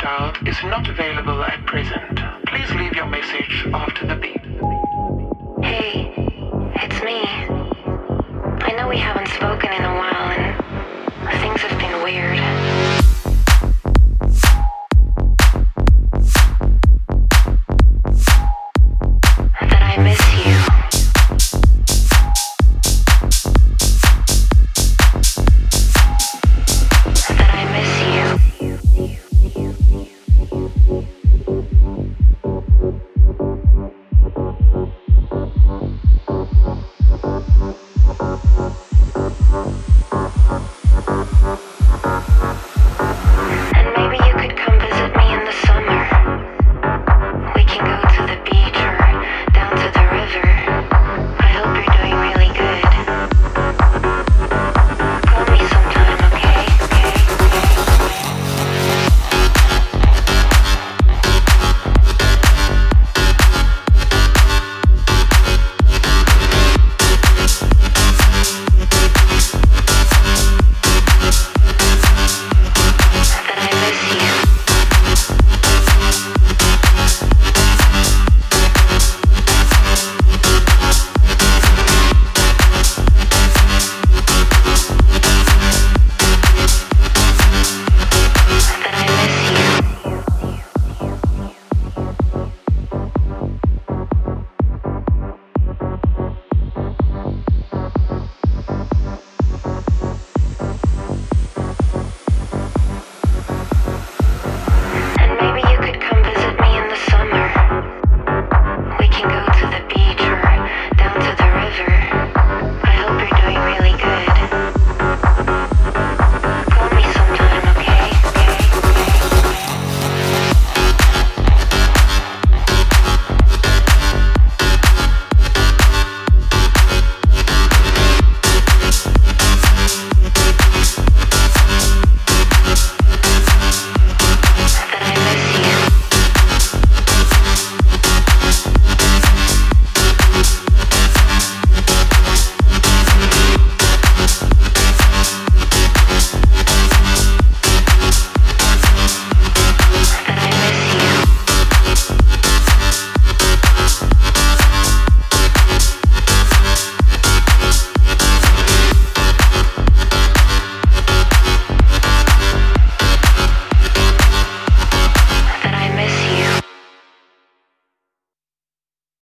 dialed is not available at present. Please leave your message after the beep. Hey, it's me. I know we haven't spoken in a while and things have been weird.